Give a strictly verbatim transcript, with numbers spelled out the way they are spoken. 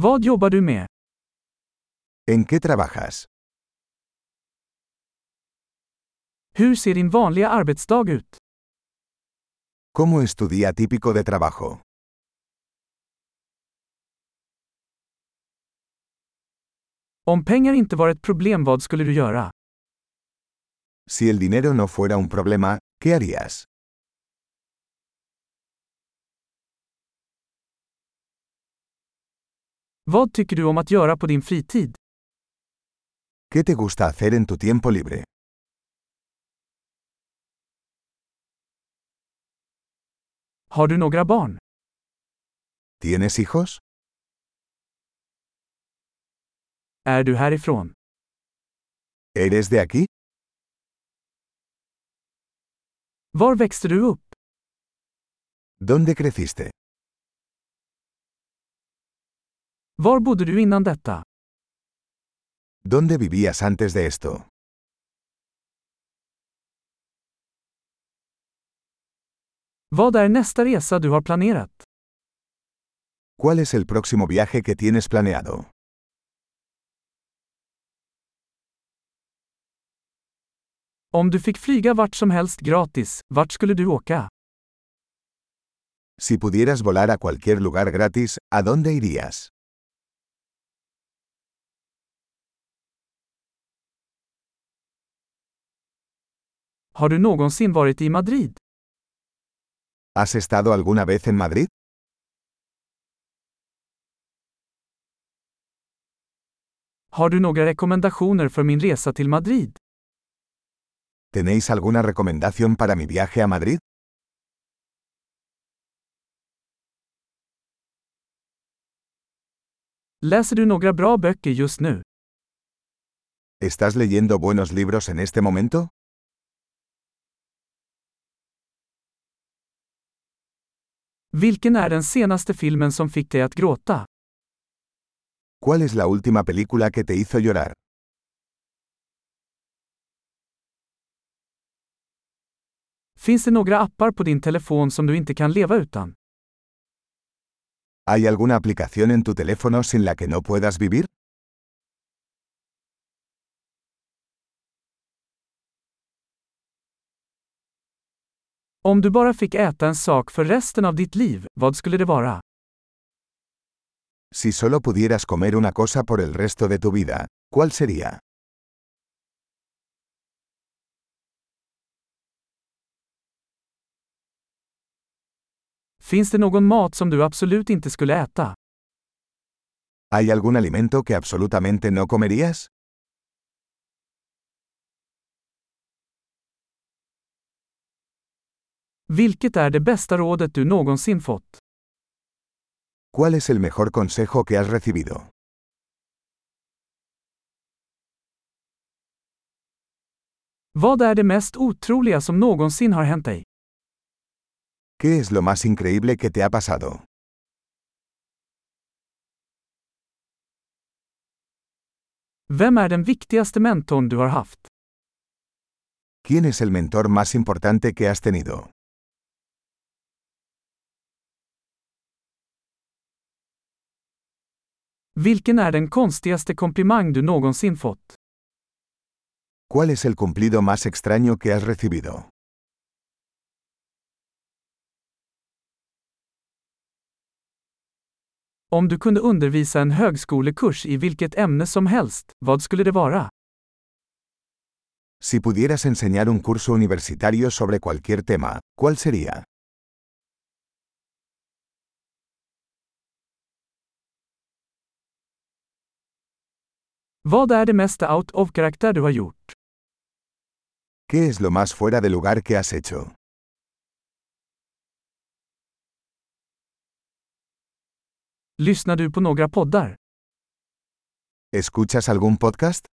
Vad jobbar du med? ¿En qué trabajas? Hur ser din vanliga arbetsdag ut? ¿Cómo es tu día típico de trabajo? Om pengar inte var ett problem, vad skulle du göra? Si el dinero no fuera un problema, ¿qué harías? Vad tycker du om att göra på din fritid? ¿Qué te gusta hacer en tu tiempo libre? Har du några barn? ¿Tienes hijos? Är du härifrån? ¿Eres de aquí? Var växte du upp? ¿Dónde creciste? Var bodde du innan detta? ¿Dónde vivías antes de esto? Vad är nästa resa du har planerat? ¿Cuál es el próximo viaje que tienes planeado? Om du fick flyga vart som helst gratis, vart skulle du åka? Si pudieras volar a cualquier lugar gratis, ¿a dónde irías? Har du någonsin varit i Madrid? ¿Has estado alguna vez en Madrid? Har du några rekommendationer för min resa till Madrid? ¿Tenéis alguna recomendación para mi viaje a Madrid? Läser du några bra böcker just nu? ¿Estás leyendo buenos libros en este momento? Vilken är den senaste filmen som fick dig att gråta? ¿Cuál es la última película que te hizo llorar? Finns det några appar på din telefon som du inte kan leva utan? ¿Hay alguna aplicación en tu teléfono sin la que no puedas vivir? Om du bara fick äta en sak för resten av ditt liv, vad skulle det vara? Si solo pudieras comer una cosa por el resto de tu vida, ¿cuál sería? Finns det någon mat som du absolut inte skulle äta? ¿Hay algún alimento que absolutamente no comerías? Vilket är det bästa rådet du någonsin fått? ¿Cuál es el mejor consejo que has recibido? Vad är det mest otroliga som någonsin har hänt dig? ¿Qué es lo más increíble que te ha pasado? Vem är den viktigaste mentorn du har haft? ¿Quién es el mentor más importante que has tenido? Vilken är den konstigaste komplimang du någonsin fått? ¿Cuál es el cumplido más extraño que has recibido? Om du kunde undervisa en högskolekurs i vilket ämne som helst, vad skulle det vara? Si pudieras enseñar un curso universitario sobre cualquier tema, ¿cuál sería? Vad är det mesta out of karaktär du har gjort? ¿Qué es lo más fuera de lugar que has hecho? Lyssnar du på några poddar? ¿Escuchas algún podcast?